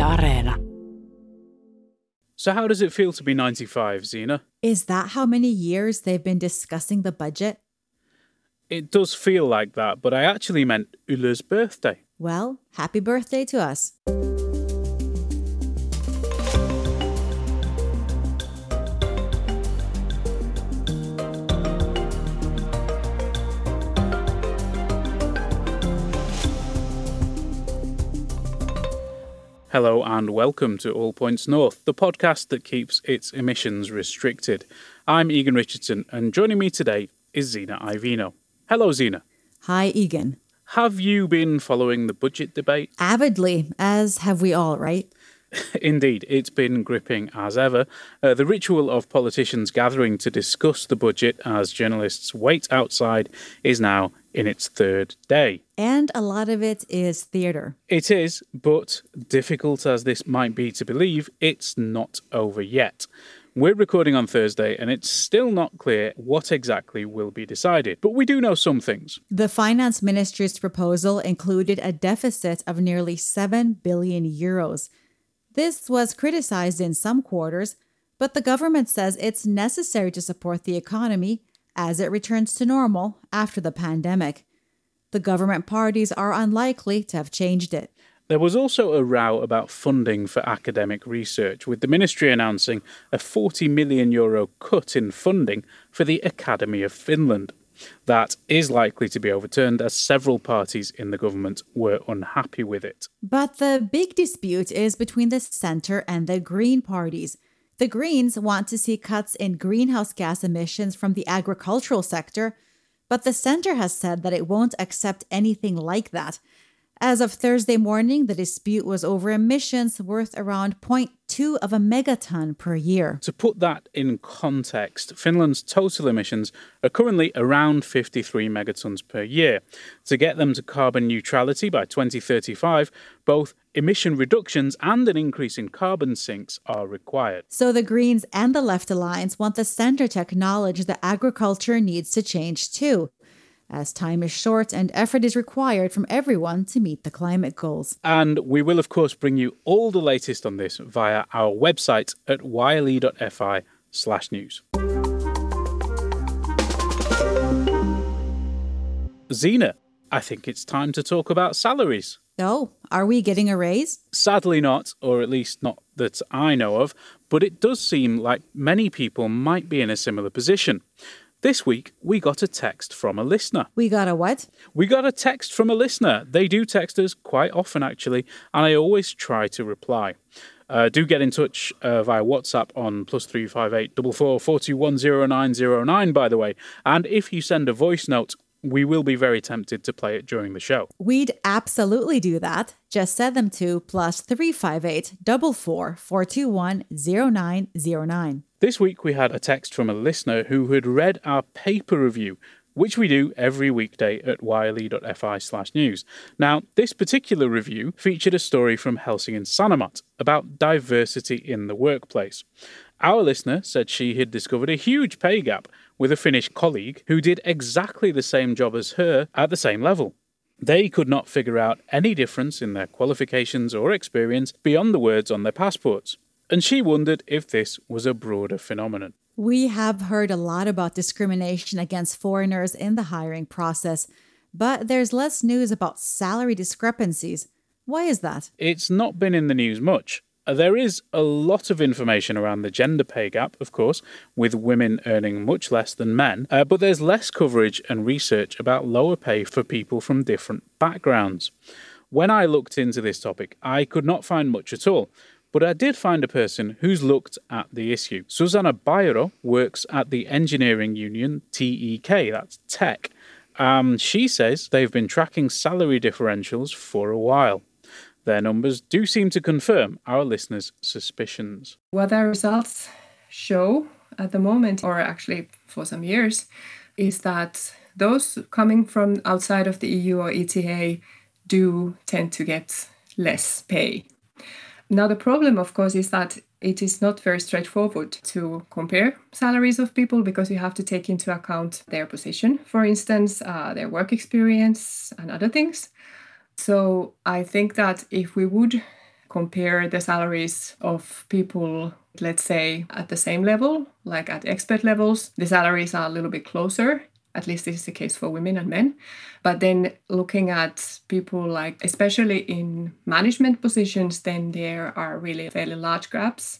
Areena. So how does it feel to be 95, Zena? Is that how many years they've been discussing the budget? It does feel like that, but I actually meant Ulla's birthday. Well, happy birthday to us. Hello and welcome to All Points North, the podcast that keeps its emissions restricted. I'm Egan Richardson, and joining me today is Zena Ivino. Hello, Zena. Hi, Egan. Have you been following the budget debate? Avidly, as have we all, right? Indeed, it's been gripping as ever. The ritual of politicians gathering to discuss the budget as journalists wait outside is now in its third day. And a lot of it is theatre. It is, but difficult as this might be to believe, it's not over yet. We're recording on Thursday and it's still not clear what exactly will be decided, but we do know some things. The Finance Ministry's proposal included a deficit of nearly 7 billion euros. This was criticized in some quarters, but the government says it's necessary to support the economy as it returns to normal after the pandemic. The government parties are unlikely to have changed it. There was also a row about funding for academic research, with the ministry announcing a €40 million cut in funding for the Academy of Finland. That is likely to be overturned as several parties in the government were unhappy with it. But the big dispute is between the centre and the Green parties. The Greens want to see cuts in greenhouse gas emissions from the agricultural sector, but the centre has said that it won't accept anything like that. As of Thursday morning, the dispute was over emissions worth around 0.2 of a megaton per year. To put that in context, Finland's total emissions are currently around 53 megatons per year. To get them to carbon neutrality by 2035, both emission reductions and an increase in carbon sinks are required. So the Greens and the Left Alliance want the centre to acknowledge that agriculture needs to change too, as time is short and effort is required from everyone to meet the climate goals. And we will, of course, bring you all the latest on this via our website at yle.fi/news. Zena, I think it's time to talk about salaries. Oh, are we getting a raise? Sadly not, or at least not that I know of, but it does seem like many people might be in a similar position. This week, we got a text from a listener. We got a what? We got a text from a listener. They do text us quite often, actually, and I always try to reply. Do get in touch via WhatsApp on +358 44 421 0909, by the way. And if you send a voice note, we will be very tempted to play it during the show. We'd absolutely do that. Just send them to +358 44 421 0909. This week we had a text from a listener who had read our paper review, which we do every weekday at yle.fi/news. Now, this particular review featured a story from Helsingin Sanomat about diversity in the workplace. Our listener said she had discovered a huge pay gap with a Finnish colleague who did exactly the same job as her at the same level. They could not figure out any difference in their qualifications or experience beyond the words on their passports. And she wondered if this was a broader phenomenon. We have heard a lot about discrimination against foreigners in the hiring process, but there's less news about salary discrepancies. Why is that? It's not been in the news much. There is a lot of information around the gender pay gap, of course, with women earning much less than men, but there's less coverage and research about lower pay for people from different backgrounds. When I looked into this topic, I could not find much at all. But I did find a person who's looked at the issue. Susanna Bairo works at the engineering union TEK, that's Tech. She says they've been tracking salary differentials for a while. Their numbers do seem to confirm our listeners' suspicions. What our results show at the moment, or actually for some years, is that those coming from outside of the EU or ETA do tend to get less pay. Now, the problem, of course, is that it is not very straightforward to compare salaries of people because you have to take into account their position, for instance, their work experience and other things. So I think that if we would compare the salaries of people, let's say, at the same level, like at expert levels, the salaries are a little bit closer. At least this is the case for women and men. But then looking at people like, especially in management positions, then there are really fairly large gaps.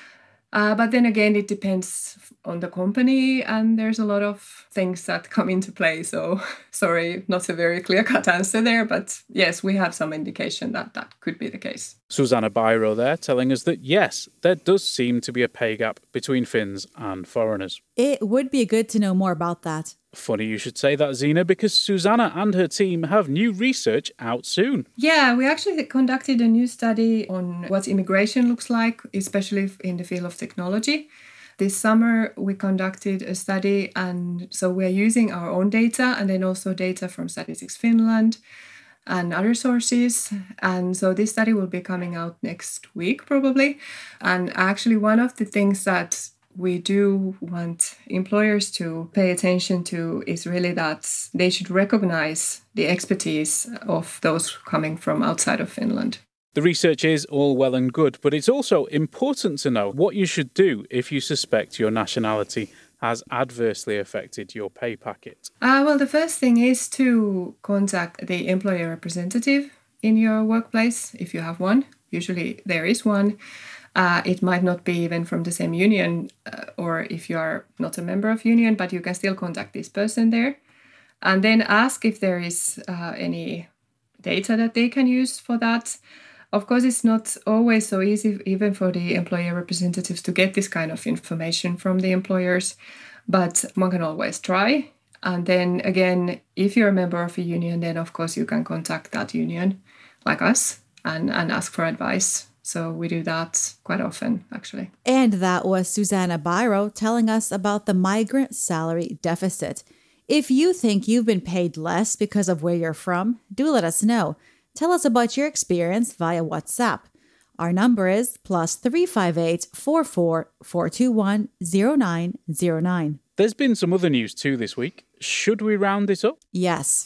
But then again, it depends on the company, and there's a lot of things that come into play. So sorry, not a very clear-cut answer there, but yes, we have some indication that that could be the case. Susanna Biro there telling us that yes, there does seem to be a pay gap between Finns and foreigners. It would be good to know more about that. Funny you should say that, Zena, because Susanna and her team have new research out soon. Yeah, we actually conducted a new study on what immigration looks like, especially in the field of technology. This summer, we conducted a study, and so we're using our own data and then also data from Statistics Finland and other sources. And so this study will be coming out next week, probably. And actually, one of the things that we do want employers to pay attention to is really that they should recognize the expertise of those coming from outside of Finland. The research is all well and good, but it's also important to know what you should do if you suspect your nationality has adversely affected your pay packet. Well, the first thing is to contact the employer representative in your workplace, if you have one. Usually there is one. It might not be even from the same union, or if you are not a member of union, but you can still contact this person there. And then ask if there is any data that they can use for that. Of course, it's not always so easy, even for the employer representatives, to get this kind of information from the employers, but one can always try. And then again, if you're a member of a union, then of course you can contact that union, like us, and ask for advice. So we do that quite often, actually. And that was Susanna Biro telling us about the migrant salary deficit. If you think you've been paid less because of where you're from, do let us know. Tell us about your experience via WhatsApp. Our number is +358 44 421 0909. There's been some other news too this week. Should we round this up? Yes.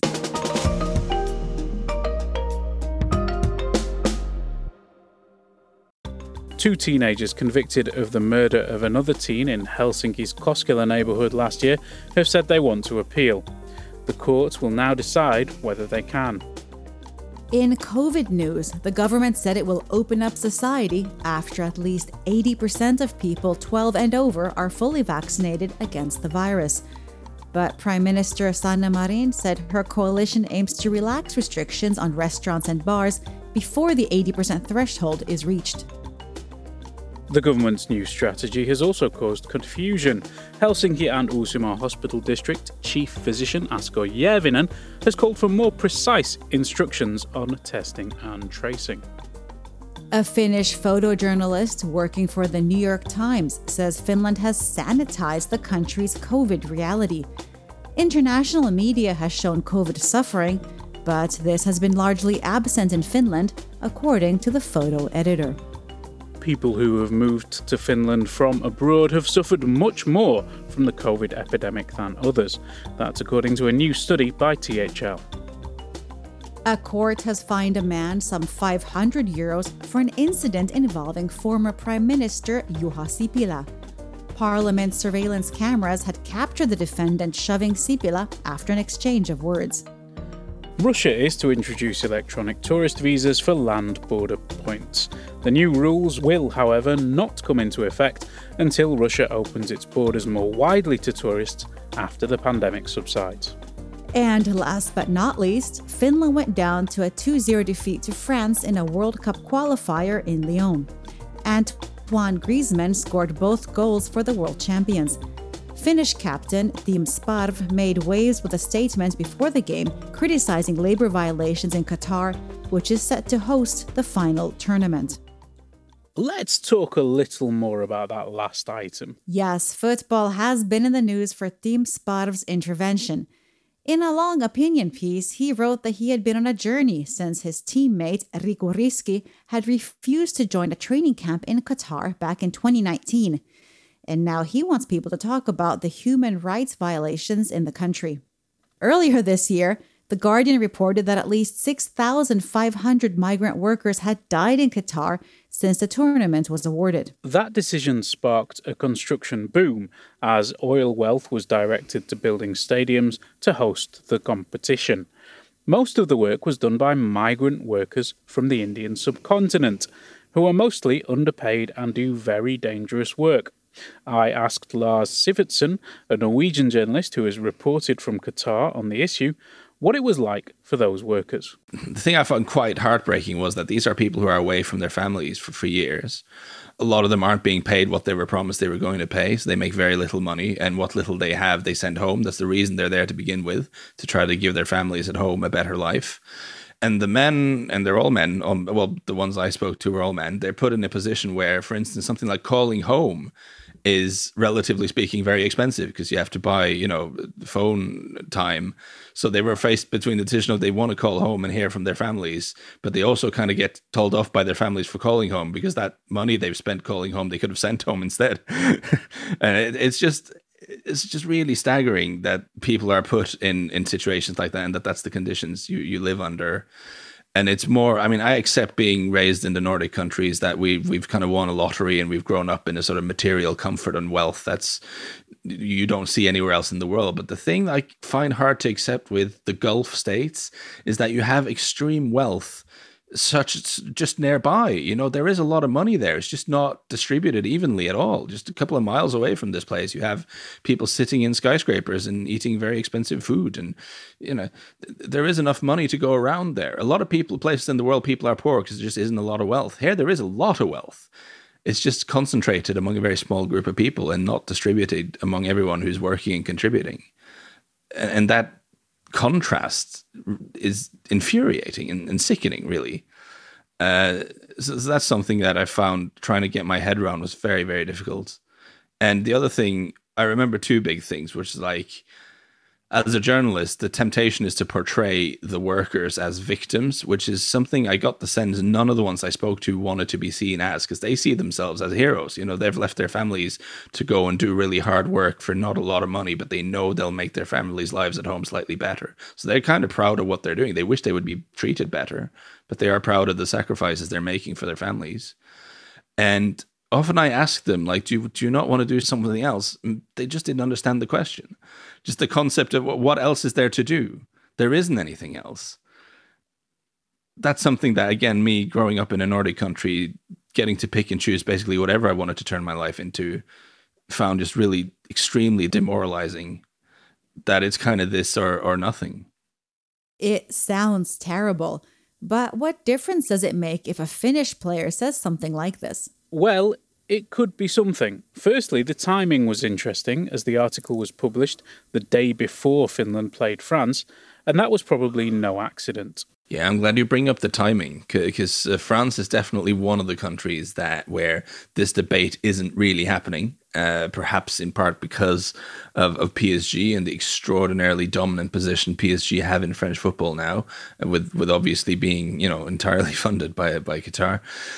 Two teenagers convicted of the murder of another teen in Helsinki's Koskela neighbourhood last year have said they want to appeal. The court will now decide whether they can. In COVID news, the government said it will open up society after at least 80% of people 12 and over are fully vaccinated against the virus. But Prime Minister Sanna Marin said her coalition aims to relax restrictions on restaurants and bars before the 80% threshold is reached. The government's new strategy has also caused confusion. Helsinki and Uusimaa Hospital District Chief Physician Asko Järvinen has called for more precise instructions on testing and tracing. A Finnish photojournalist working for the New York Times says Finland has sanitized the country's COVID reality. International media has shown COVID suffering, but this has been largely absent in Finland, according to the photo editor. People who have moved to Finland from abroad have suffered much more from the COVID epidemic than others. That's according to a new study by THL. A court has fined a man some 500 euros for an incident involving former Prime Minister Juha Sipilä. Parliament surveillance cameras had captured the defendant shoving Sipilä after an exchange of words. Russia is to introduce electronic tourist visas for land border points. The new rules will, however, not come into effect until Russia opens its borders more widely to tourists after the pandemic subsides. And last but not least, Finland went down to a 2-0 defeat to France in a World Cup qualifier in Lyon. Antoine Griezmann scored both goals for the world champions. Finnish captain Team Sparv made waves with a statement before the game criticizing labor violations in Qatar, which is set to host the final tournament. Let's talk a little more about that last item. Yes, football has been in the news for Team Sparv's intervention. In a long opinion piece, he wrote that he had been on a journey since his teammate Riku Riski had refused to join a training camp in Qatar back in 2019. And now he wants people to talk about the human rights violations in the country. Earlier this year, The Guardian reported that at least 6,500 migrant workers had died in Qatar since the tournament was awarded. That decision sparked a construction boom as oil wealth was directed to building stadiums to host the competition. Most of the work was done by migrant workers from the Indian subcontinent, who are mostly underpaid and do very dangerous work. I asked Lars Sivertsen, a Norwegian journalist who has reported from Qatar on the issue, what it was like for those workers. The thing I found quite heartbreaking was that these are people who are away from their families for years. A lot of them aren't being paid what they were promised they were going to pay, so they make very little money, and what little they have, they send home. That's the reason they're there to begin with, to try to give their families at home a better life. And the men, and they're all men, well, the ones I spoke to were all men, they're put in a position where, for instance, something like calling home is, relatively speaking, very expensive because you have to buy, phone time. So they were faced between the decision of they want to call home and hear from their families, but they also kind of get told off by their families for calling home because that money they've spent calling home, they could have sent home instead. And it's just really staggering that people are put in situations like that and that's the conditions you live under. And it's more, I accept being raised in the Nordic countries that we've kind of won a lottery and we've grown up in a sort of material comfort and wealth that's you don't see anywhere else in the world. But the thing I find hard to accept with the Gulf states is that you have extreme wealth such just nearby. There is a lot of money there. It's just not distributed evenly at all. Just a couple of miles away from this place, you have people sitting in skyscrapers and eating very expensive food. And, there is enough money to go around there. A lot of places in the world, people are poor because there just isn't a lot of wealth. Here, there is a lot of wealth. It's just concentrated among a very small group of people and not distributed among everyone who's working and contributing. And that contrast is infuriating and sickening, really. So that's something that I found trying to get my head around was very, very difficult. And the other thing, I remember two big things, which is like, as a journalist, the temptation is to portray the workers as victims, which is something I got the sense none of the ones I spoke to wanted to be seen as, because they see themselves as heroes. They've left their families to go and do really hard work for not a lot of money, but they know they'll make their families' lives at home slightly better. So they're kind of proud of what they're doing. They wish they would be treated better, but they are proud of the sacrifices they're making for their families. And often I ask them, like, do you not want to do something else? And they just didn't understand the question. Just the concept of what else is there to do? There isn't anything else. That's something that, again, me growing up in a Nordic country, getting to pick and choose basically whatever I wanted to turn my life into, found just really extremely demoralizing, that it's kind of this or nothing. It sounds terrible, but what difference does it make if a Finnish player says something like this? Well, it could be something. Firstly, the timing was interesting, as the article was published the day before Finland played France, and that was probably no accident. Yeah, I'm glad you bring up the timing, because France is definitely one of the countries where this debate isn't really happening, perhaps in part because of PSG and the extraordinarily dominant position PSG have in French football now, with obviously being, entirely funded by Qatar.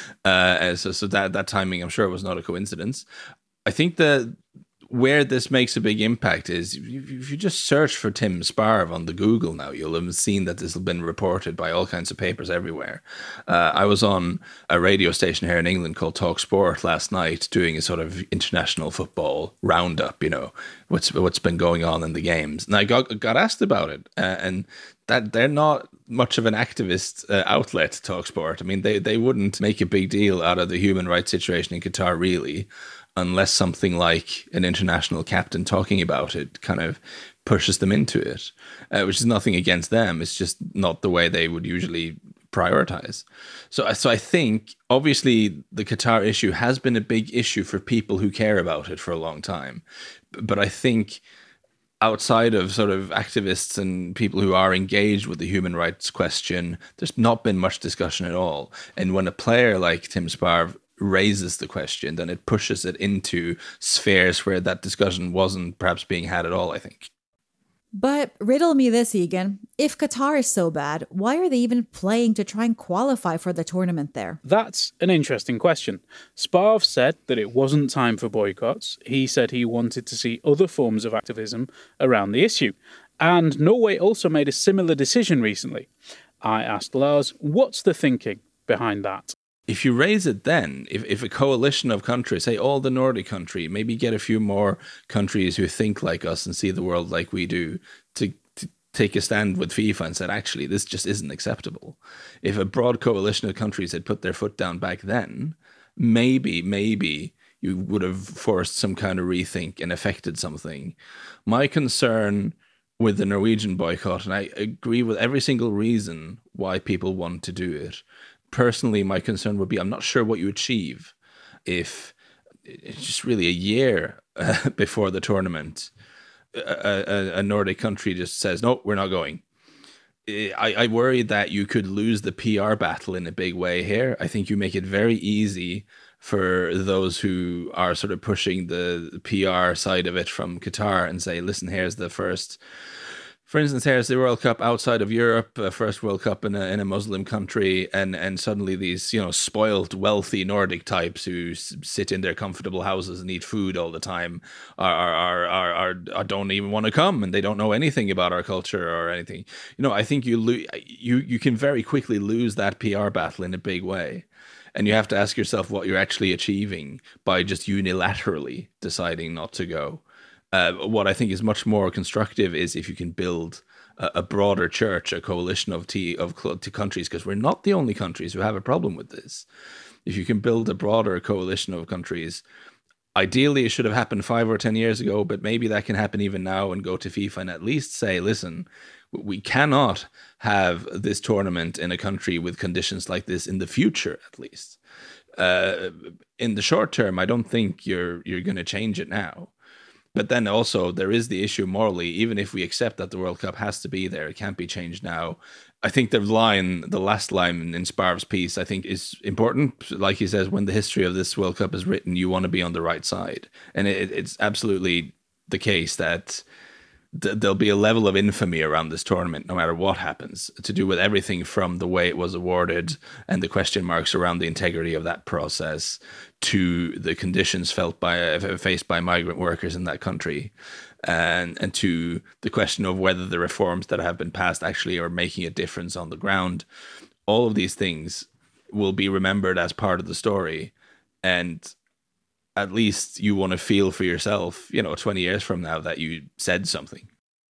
So that timing, I'm sure, was not a coincidence. I think where this makes a big impact is if you just search for Tim Sparv on the Google now, you'll have seen that this has been reported by all kinds of papers everywhere. I was on a radio station here in England called Talk Sport last night doing a sort of international football roundup, what's been going on in the games. And I got asked about it, and that they're not much of an activist outlet, Talk Sport. I mean, they wouldn't make a big deal out of the human rights situation in Qatar, really, unless something like an international captain talking about it kind of pushes them into it, which is nothing against them. It's just not the way they would usually prioritize. So I think, obviously, the Qatar issue has been a big issue for people who care about it for a long time. But I think outside of sort of activists and people who are engaged with the human rights question, there's not been much discussion at all. And when a player like Tim Sparv raises the question, then it pushes it into spheres where that discussion wasn't perhaps being had at all, I think. But riddle me this, Egan. If Qatar is so bad, why are they even playing to try and qualify for the tournament there? That's an interesting question. Sparv said that it wasn't time for boycotts. He said he wanted to see other forms of activism around the issue. And Norway also made a similar decision recently. I asked Lars, what's the thinking behind that? If you raise it then, if a coalition of countries, say all the Nordic country, maybe get a few more countries who think like us and see the world like we do, to take a stand with FIFA and said, actually, this just isn't acceptable. If a broad coalition of countries had put their foot down back then, maybe you would have forced some kind of rethink and affected something. My concern with the Norwegian boycott, and I agree with every single reason why people want to do it. Personally, my concern would be, I'm not sure what you achieve if it's just really a year before the tournament, a Nordic country just says, no, we're not going. I worry that you could lose the PR battle in a big way here. I think you make it very easy for those who are sort of pushing the PR side of it from Qatar and say, listen, here's the first... For instance, here's the World Cup outside of Europe, first World Cup in a Muslim country, and suddenly these, spoiled, wealthy Nordic types who sit in their comfortable houses and eat food all the time are don't even want to come, and they don't know anything about our culture or anything. I think you can very quickly lose that PR battle in a big way. And you have to ask yourself what you're actually achieving by just unilaterally deciding not to go. What I think is much more constructive is if you can build a broader church, a coalition of countries, because we're not the only countries who have a problem with this. If you can build a broader coalition of countries, ideally it should have happened 5 or 10 years ago, but maybe that can happen even now, and go to FIFA and at least say, listen, we cannot have this tournament in a country with conditions like this in the future, at least. In the short term, I don't think you're going to change it now. But then also there is the issue morally, even if we accept that the World Cup has to be there, it can't be changed now. I think the last line in Sparv's piece, I think is important. Like he says, when the history of this World Cup is written, you want to be on the right side. And it's absolutely the case that there'll be a level of infamy around this tournament, no matter what happens, to do with everything from the way it was awarded and the question marks around the integrity of that process to the conditions faced by migrant workers in that country, and to the question of whether the reforms that have been passed actually are making a difference on the ground. All of these things will be remembered as part of the story, and at least you want to feel for yourself, 20 years from now, that you said something.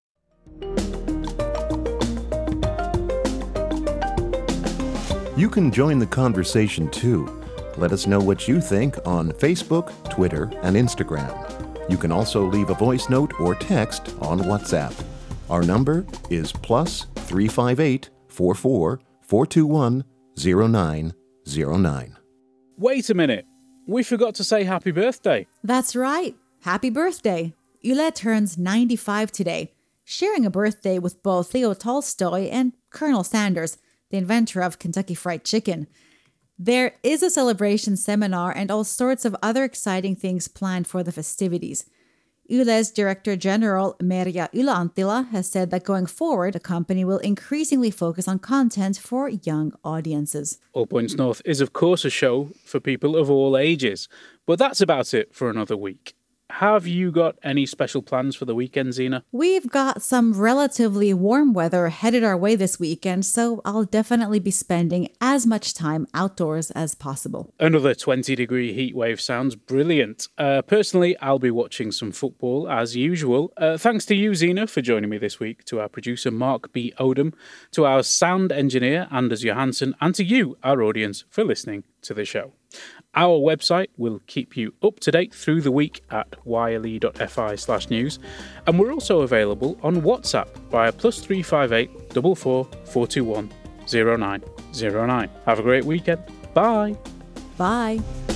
You can join the conversation too. Let us know what you think on Facebook, Twitter, and Instagram. You can also leave a voice note or text on WhatsApp. Our number is +358 44 421 0909. Wait a minute. We forgot to say happy birthday. That's right. Happy birthday. Yle turns 95 today, sharing a birthday with both Leo Tolstoy and Colonel Sanders, the inventor of Kentucky Fried Chicken. There is a celebration seminar and all sorts of other exciting things planned for the festivities. Yle's Director General Merja Yle-Anttila has said that going forward, the company will increasingly focus on content for young audiences. All Points North is, of course, a show for people of all ages. But that's about it for another week. Have you got any special plans for the weekend, Zena? We've got some relatively warm weather headed our way this weekend, so I'll definitely be spending as much time outdoors as possible. Another 20-degree heat wave sounds brilliant. Personally, I'll be watching some football as usual. Thanks to you, Zena, for joining me this week, to our producer Mark B. Odom, to our sound engineer Anders Johansson, and to you, our audience, for listening to the show. Our website will keep you up to date through the week at yle.fi/news, and we're also available on WhatsApp via +358 44 421 0909. Have a great weekend. Bye. Bye.